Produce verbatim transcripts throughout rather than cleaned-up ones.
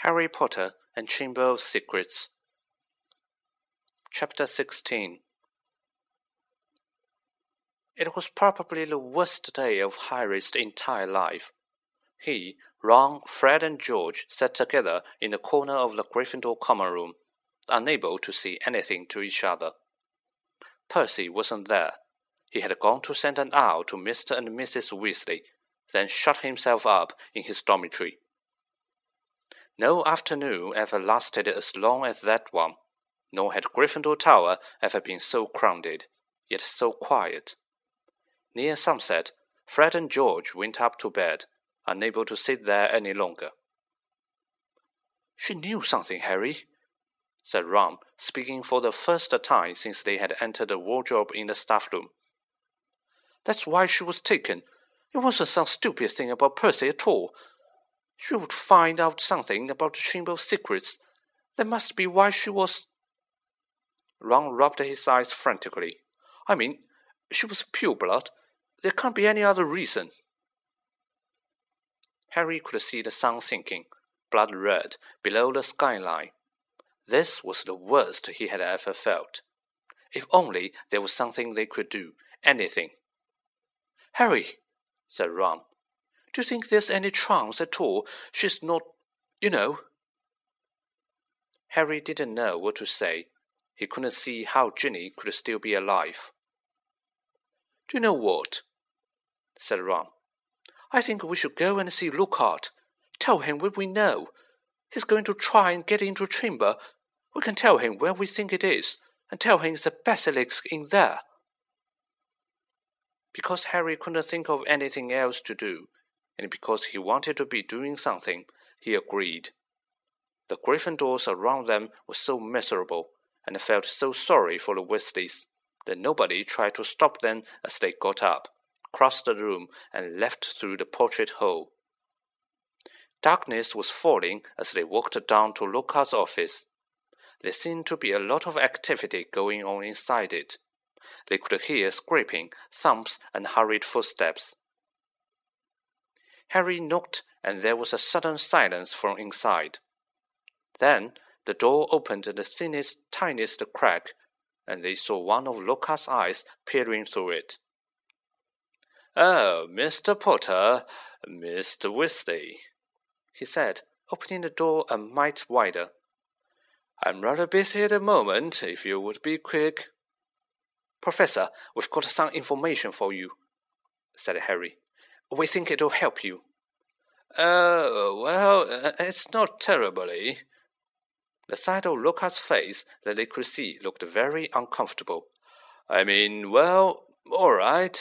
Harry Potter and Chamber of Secrets. Chapter sixteen. It was probably the worst day of Harry's entire life. He, Ron, Fred, and George sat together in the corner of the Gryffindor common room, unable to say anything to each other. Percy wasn't there. He had gone to send an owl to Mister and Missus Weasley, then shut himself up in his dormitory. No afternoon ever lasted as long as that one, nor had Gryffindor Tower ever been so crowded, yet so quiet. Near sunset, Fred and George went up to bed, unable to sit there any longer. "She knew something, Harry," said Ron, speaking for the first time since they had entered the wardrobe in the staff room. "That's why she was taken. It wasn't some stupid thing about Percy at all. She would find out something about the Chamber of Secrets. That must be why she was—" Ron rubbed his eyes frantically. "I mean, she was pureblood. There can't be any other reason." Harry could see the sun sinking, blood red, below the skyline. This was the worst he had ever felt. If only there was something they could do, anything. "Harry," said Ron, "do you think there's any chance at all she's not, you know?" Harry didn't know what to say. He couldn't see how Ginny could still be alive. "Do you know what?" said Ron. "I think we should go and see Lockhart. Tell him what we know. He's going to try and get into a chamber. We can tell him where we think it is, and tell him it's a basilisk in there." Because Harry couldn't think of anything else to do, and because he wanted to be doing something, he agreed. The Gryffindors around them were so miserable, and felt so sorry for the Weasleys, that nobody tried to stop them as they got up, crossed the room, and left through the portrait hole. Darkness was falling as they walked down to Lockhart's office. There seemed to be a lot of activity going on inside it. They could hear scraping, thumps, and hurried footsteps. Harry knocked, and there was a sudden silence from inside. Then the door opened the thinnest, tiniest crack, and they saw one of Lockhart's eyes peering through it. "Oh, Mister Potter, Mister Weasley," he said, opening the door a mite wider. "I'm rather busy at the moment, if you would be quick." "Professor, we've got some information for you," said Harry. "We think it'll help you." "Oh, well, uh, it's not terribly." The side of Lockhart's face that they could see looked very uncomfortable. "I mean, well, all right."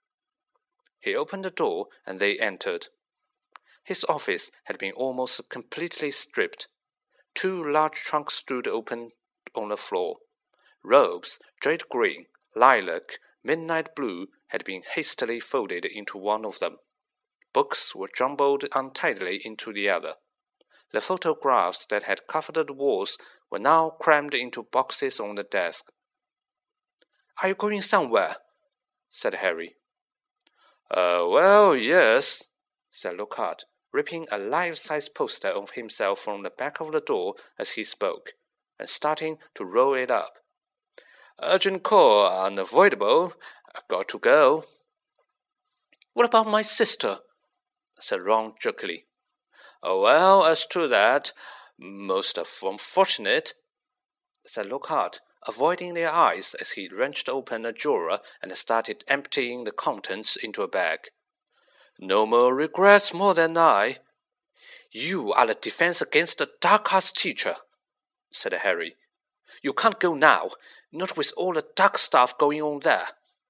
He opened the door, and they entered. His office had been almost completely stripped. Two large trunks stood open on the floor. Robes, jade green, lilac, midnight blue, had been hastily folded into one of them. Books were jumbled untidily into the other. The photographs that had covered the walls were now crammed into boxes on the desk. "Are you going somewhere?" said Harry. Uh, well, yes," said Lockhart, ripping a life-size poster of himself from the back of the door as he spoke, and starting to roll it up. "Urgent call, unavoidable. Got to go." "What about my sister?" said Ron jerkily. Oh, well, as to that, most unfortunate," said Lockhart, avoiding their eyes as he wrenched open a drawer and started emptying the contents into a bag. "No more regrets more than I." "You are the defense against the dark arts teacher," said Harry. "You can't go now, not with all the dark stuff going on there."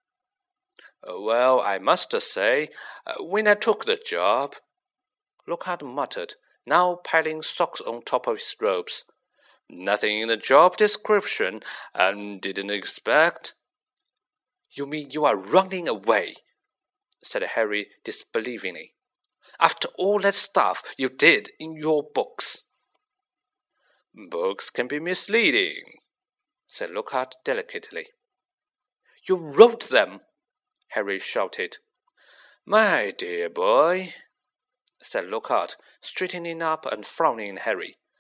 "Well, I must say, when I took the job," Lockhart muttered, now piling socks on top of his robes, "nothing in the job description I didn't expect." "You mean you are running away?" said Harry disbelievingly. "After all that stuff you did in your books." "Books can be misleading," said Lockhart delicately. "You wrote them!" Harry shouted. "My dear boy," said Lockhart, straightening up and frowning at Harry,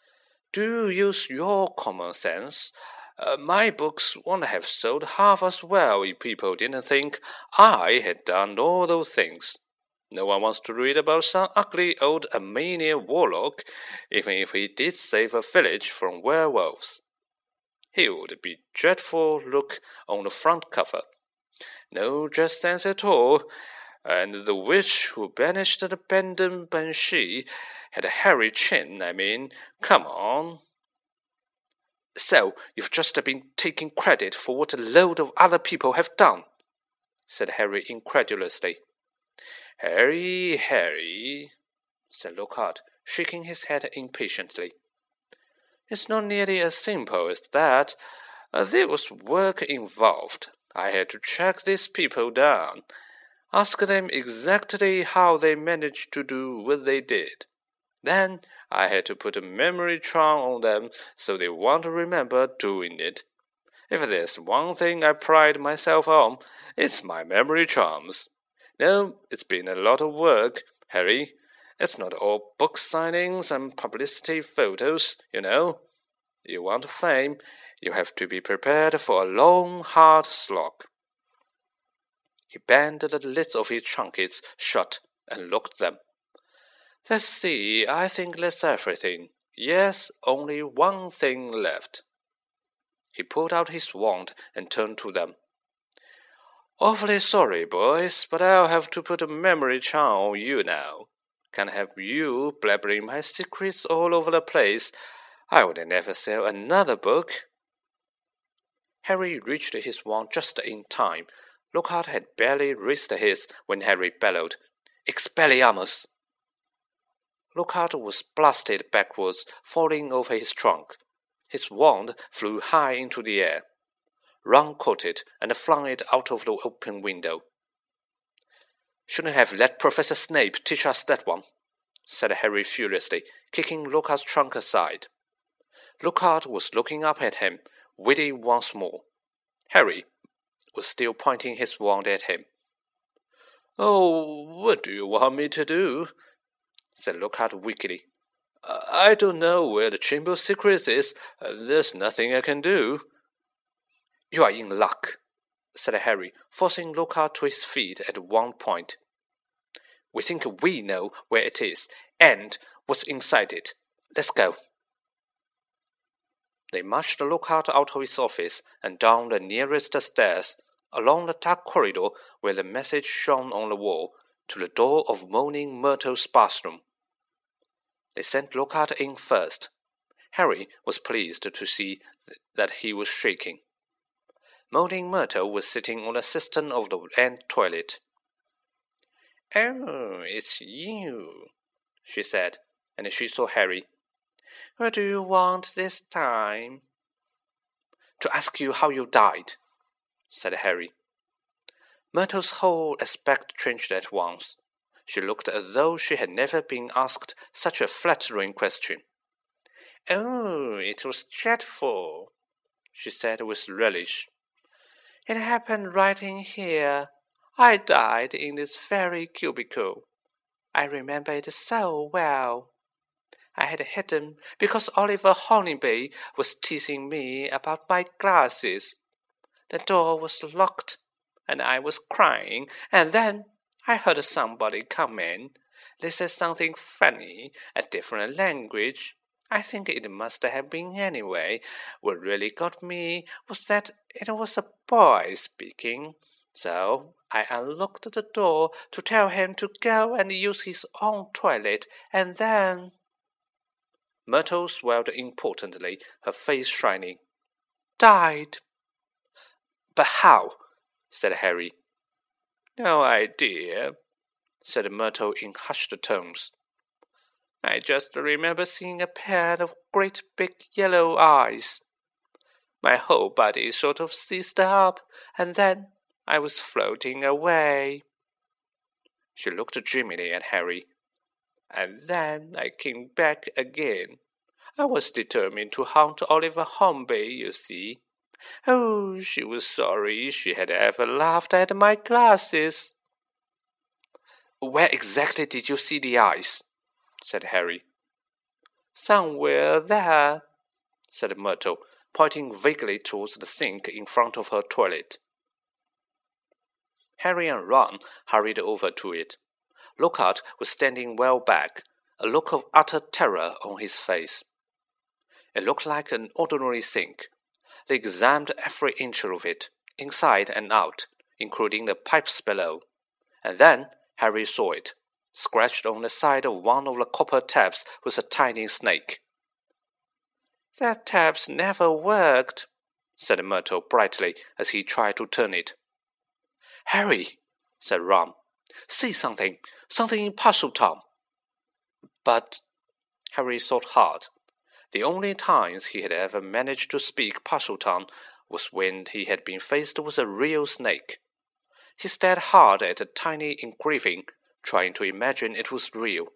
Do use your common sense. Uh, my books wouldn't have sold half as well if people didn't think I had done all those things. No one wants to read about some ugly old Armenian warlock, even if he did save a village from werewolves. He would be a dreadful look on the front cover. No dress sense at all, and the witch who banished the abandoned banshee had a hairy chin, I mean, come on. So, you've just been taking credit for what a load of other people have done, said Harry incredulously. Harry, Harry, said Lockhart, shaking his head impatiently. It's not nearly as simple as that. Uh, there was work involved. I had to track these people down, ask them exactly how they managed to do what they did. Then I had to put a memory charm on them so they won't remember doing it. If there's one thing I pride myself on, it's my memory charms. No, it's been a lot of work, Harry. It's not all book signings and publicity photos, you know. You want fame, you have to be prepared for a long, hard slog. He banged the lids of his trunkets shut and looked at them. Let's see, I think that's everything. Yes, only one thing left. He pulled out his wand and turned to them. Awfully sorry, boys, but I'll have to put a memory charm on you now. Can't have you blabbering my secrets all over the place. I would never sell another book. Harry reached his wand just in time. Lockhart had barely raised his when Harry bellowed, Expelliarmus! Lockhart was blasted backwards, falling over his trunk. His wand flew high into the air. Ron caught it and flung it out of the open window. Shouldn't have let Professor Snape teach us that one, said Harry furiously, kicking Lockhart's trunk aside. Lockhart was looking up at him, witty once more. Harry was still pointing his wand at him. Oh, what do you want me to do? Said Lockhart weakly. I don't know where the Chamber of Secrets is. There's nothing I can do. You are in luck, said Harry, forcing Lockhart to his feet at one point. We think we know where it is, and what's inside it. Let's go. They marched Lockhart out of his office and down the nearest stairs, along the dark corridor where the message shone on the wall, to the door of Moaning Myrtle's bathroom. They sent Lockhart in first. Harry was pleased to see th that he was shaking. Moaning Myrtle was sitting on the cistern of the end toilet. Oh, it's you, she said, and she saw Harry. What do you want this time? To ask you how you died, said Harry. Myrtle's whole aspect changed at once. She looked as though she had never been asked such a flattering question. Oh, it was dreadful, she said with relish. It happened right in here. I died in this very cubicle. I remember it so well. I had hidden because Oliver Hornby was teasing me about my glasses. The door was locked, and I was crying, and then I heard somebody come in. They said something funny, a different language. I think it must have been anyway. What really got me was that it was a boy speaking. So I unlocked the door to tell him to go and use his own toilet, and then... Myrtle swelled importantly, her face shining. Died. But how? Said Harry. No idea, said Myrtle in hushed tones. I just remember seeing a pair of great big yellow eyes. My whole body sort of seized up, and then I was floating away. She looked dreamily at Harry. And then I came back again. I was determined to haunt Oliver Hornby, you see. Oh, she was sorry she had ever laughed at my glasses. Where exactly did you see the eyes? Said Harry. Somewhere there, said Myrtle, pointing vaguely towards the sink in front of her toilet. Harry and Ron hurried over to it. Lockhart was standing well back, a look of utter terror on his face. It looked like an ordinary sink. They examined every inch of it, inside and out, including the pipes below. And then Harry saw it. Scratched on the side of one of the copper taps was a tiny snake. That tap's never worked, said Myrtle brightly as he tried to turn it. Harry, said Ron, see something, something in Parseltown. But Harry thought hard. The only times he had ever managed to speak Parseltown was when he had been faced with a real snake. He stared hard at the tiny engraving, trying to imagine it was real.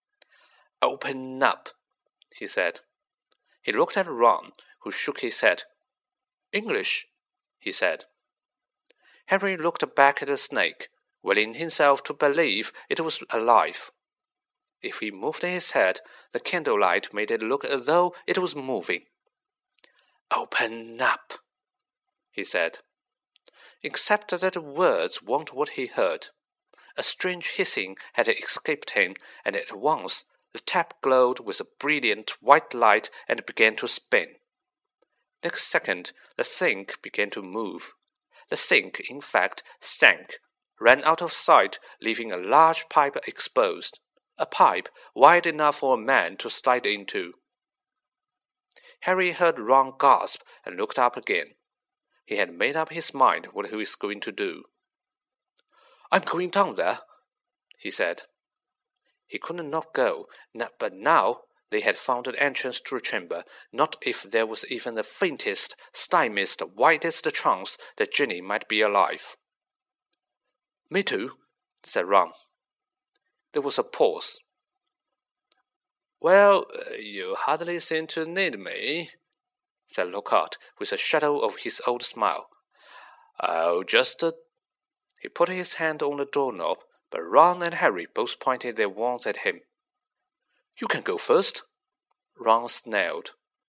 Open up, he said. He looked at Ron, who shook his head. English, he said. Harry looked back at the snake, willing himself to believe it was alive. If he moved his head, the candlelight made it look as though it was moving. Open up, he said. Except that the words weren't what he heard. A strange hissing had escaped him, and at once the tap glowed with a brilliant white light and began to spin. Next second, the sink began to move. The sink, in fact, sank, ran out of sight, leaving a large pipe exposed, a pipe wide enough for a man to slide into. Harry heard Ron gasp and looked up again. He had made up his mind what he was going to do. I'm going down there, he said. He could not go, but now they had found an entrance to the chamber, not if there was even the faintest, slightest, widest chance that Ginny might be alive. Me too, said Ron. There was a pause. Well, you hardly seem to need me, said Lockhart, with a shadow of his old smile. I'll just... Uh... He put his hand on the doorknob, but Ron and Harry both pointed their wands at him. You can go first, Ron snarled.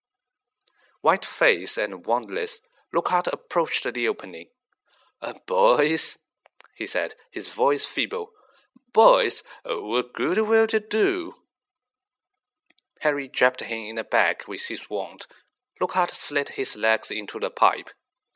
White-faced and wandless, Lockhart approached the opening. Uh, boys, he said, his voice feeble. Boys, what good will it do? Harry jabbed him in the back with his wand. Lockhart slid his legs into the pipe.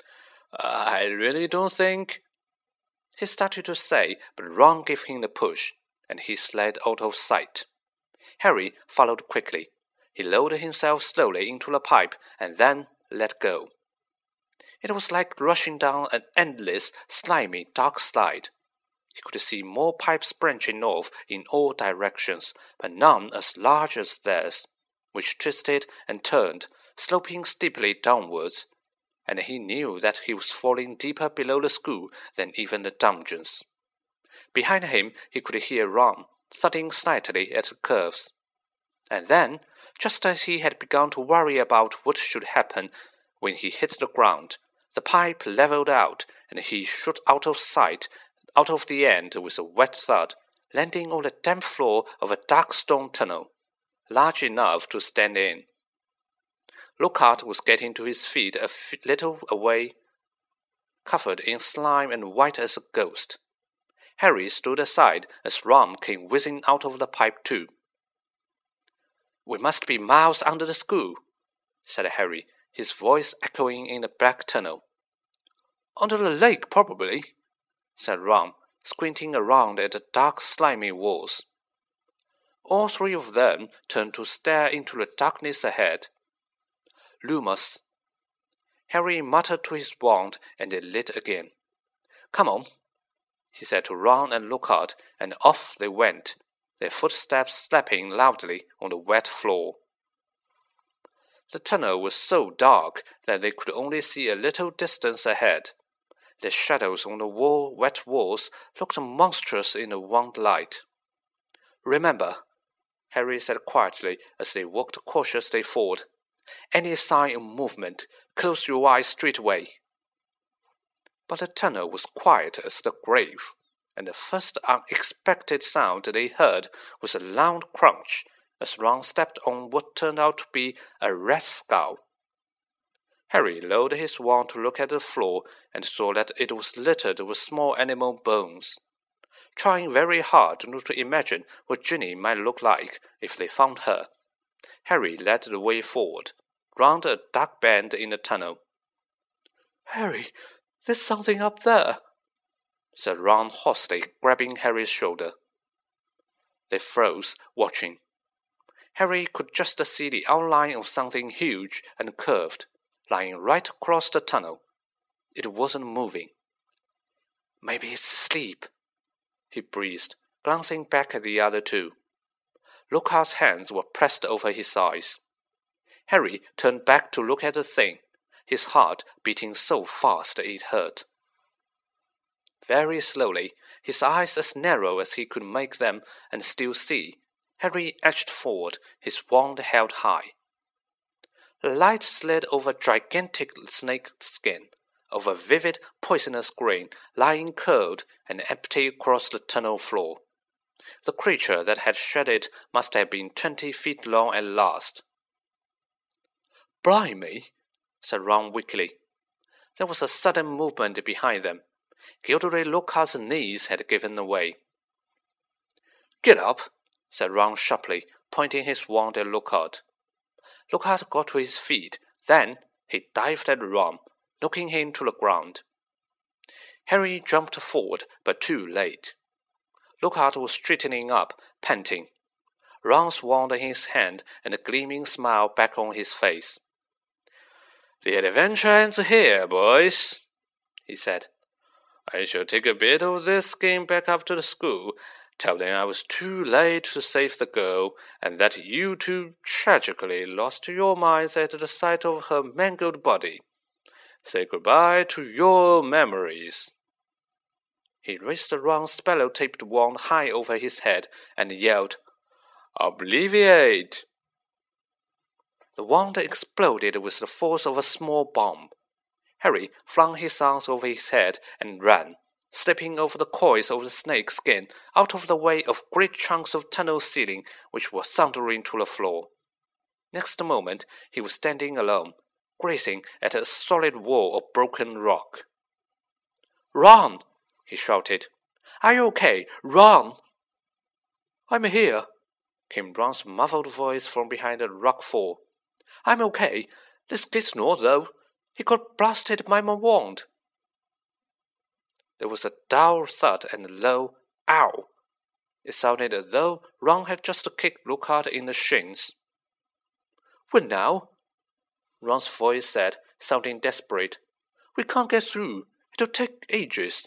I really don't think... He started to say, but Ron gave him the push, and he slid out of sight. Harry followed quickly. He lowered himself slowly into the pipe and then let go. It was like rushing down an endless, slimy, dark slide. He could see more pipes branching off in all directions, but none as large as theirs, which twisted and turned, sloping steeply downwards, and he knew that he was falling deeper below the school than even the dungeons. Behind him he could hear Ron thudding slightly at the curves. And then, just as he had begun to worry about what should happen when he hit the ground, the pipe levelled out, and he shot out of sight, out of the end with a wet thud, landing on the damp floor of a dark stone tunnel, large enough to stand in. Lockhart was getting to his feet a f little away, covered in slime and white as a ghost. Harry stood aside as Ron came whizzing out of the pipe too. We must be miles under the school, said Harry, his voice echoing in the black tunnel. Under the lake, probably, said Ron, squinting around at the dark, slimy walls. All three of them turned to stare into the darkness ahead. Lumos. Harry muttered to his wand, and it lit again. Come on, he said to Ron and Lockhart, and off they went, their footsteps slapping loudly on the wet floor. The tunnel was so dark that they could only see a little distance ahead. The shadows on the wall, wet walls looked monstrous in the wan light. Remember, Harry said quietly as they walked cautiously forward, any sign of movement, close your eyes straightway. But the tunnel was quiet as the grave, and the first unexpected sound they heard was a loud crunch, as Ron stepped on what turned out to be a rat's skull. Harry lowered his wand to look at the floor and saw that it was littered with small animal bones. Trying very hard not to imagine what Ginny might look like if they found her, Harry led the way forward, round a dark bend in the tunnel. "Harry, there's something up there," said Ron hoarsely, grabbing Harry's shoulder. They froze, watching. Harry could just see the outline of something huge and curved, lying right across the tunnel. It wasn't moving. "Maybe it's asleep," he breathed, glancing back at the other two. Lockhart's hands were pressed over his eyes. Harry turned back to look at the thing, his heart beating so fast it hurt. Very slowly, his eyes as narrow as he could make them and still see, Harry edged forward, his wand held high. The light slid over gigantic snake skin, over vivid, poisonous green lying curled and empty across the tunnel floor. The creature that had shed it must have been twenty feet long at last. "Blimey," said Ron weakly. There was a sudden movement behind them. Gilderoy Lockhart's knees had given way. "Get up," said Ron sharply, pointing his wand at Lockhart. Lockhart got to his feet. Then he dived at Ron, knocking him to the ground. Harry jumped forward, but too late. Lockhart was straightening up, panting. Ron's wand in his hand and a gleaming smile back on his face. "The adventure ends here, boys," he said. "I shall take a bit of this skin back up to the school, tell them I was too late to save the girl, and that you two tragically lost your minds at the sight of her mangled body. Say goodbye to your memories." He raised the round spello-taped wand high over his head and yelled, "Obliviate!" The wand exploded with the force of a small bomb. Harry flung his arms over his head and ran, slipping over the coils of the snake skin out of the way of great chunks of tunnel ceiling which were thundering to the floor. Next moment he was standing alone, grazing at a solid wall of broken rock. "Run!" he shouted. "Are you okay? Run!" "I'm here," came Ron's muffled voice from behind the rock fall. "I'm okay. This kid's not, though. He got blasted by my wand." There was a dull thud and a low "ow." It sounded as though Ron had just kicked Lockhart in the shins. "What now?" Ron's voice said, sounding desperate. "We can't get through. It'll take ages."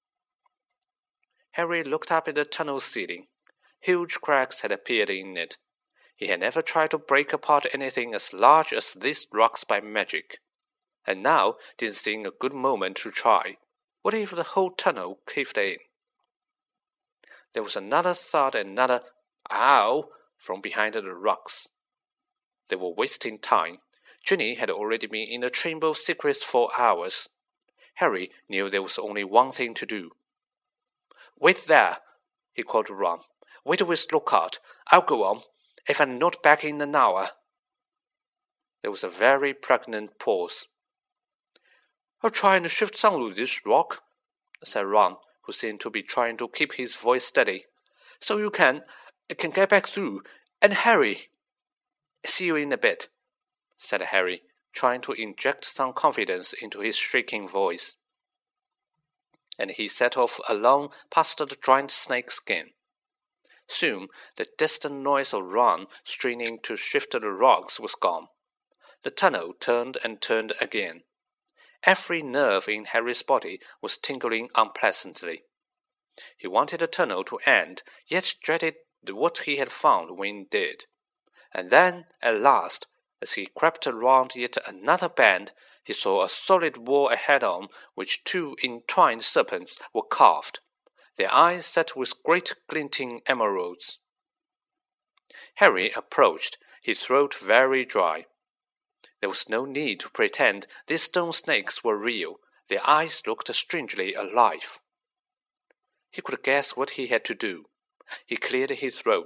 Harry looked up at the tunnel ceiling. Huge cracks had appeared in it. He had never tried to break apart anything as large as these rocks by magic, and now didn't seem a good moment to try. What if the whole tunnel caved in? There was another thud and another "ow" from behind the rocks. They were wasting time. Ginny had already been in the Chamber of Secrets for hours. Harry knew there was only one thing to do. "Wait there," he called to Ron. "Wait with Lockhart. I'll go on, if I'm not back in an hour." There was a very pregnant pause. "I'll try and shift some of this rock," said Ron, who seemed to be trying to keep his voice steady, "so you can, can get back through. And Harry—" "See you in a bit," said Harry, trying to inject some confidence into his shaking voice. And he set off along past the giant snake skin. Soon the distant noise of Ron straining to shift the rocks was gone. The tunnel turned and turned again. Every nerve in Harry's body was tingling unpleasantly. He wanted the tunnel to end, yet dreaded what he had found when it did. And then, at last, as he crept around yet another bend, he saw a solid wall ahead on which two entwined serpents were carved, their eyes set with great glinting emeralds. Harry approached, his throat very dry. There was no need to pretend these stone snakes were real. Their eyes looked strangely alive. He could guess what he had to do. He cleared his throat,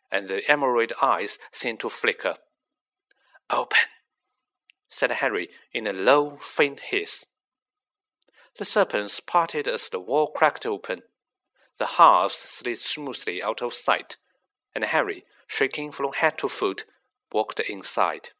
and the emerald eyes seemed to flicker. "Open," said Harry in a low, faint hiss. The serpents parted as the wall cracked open. The halves slid smoothly out of sight, and Harry, shaking from head to foot, walked inside.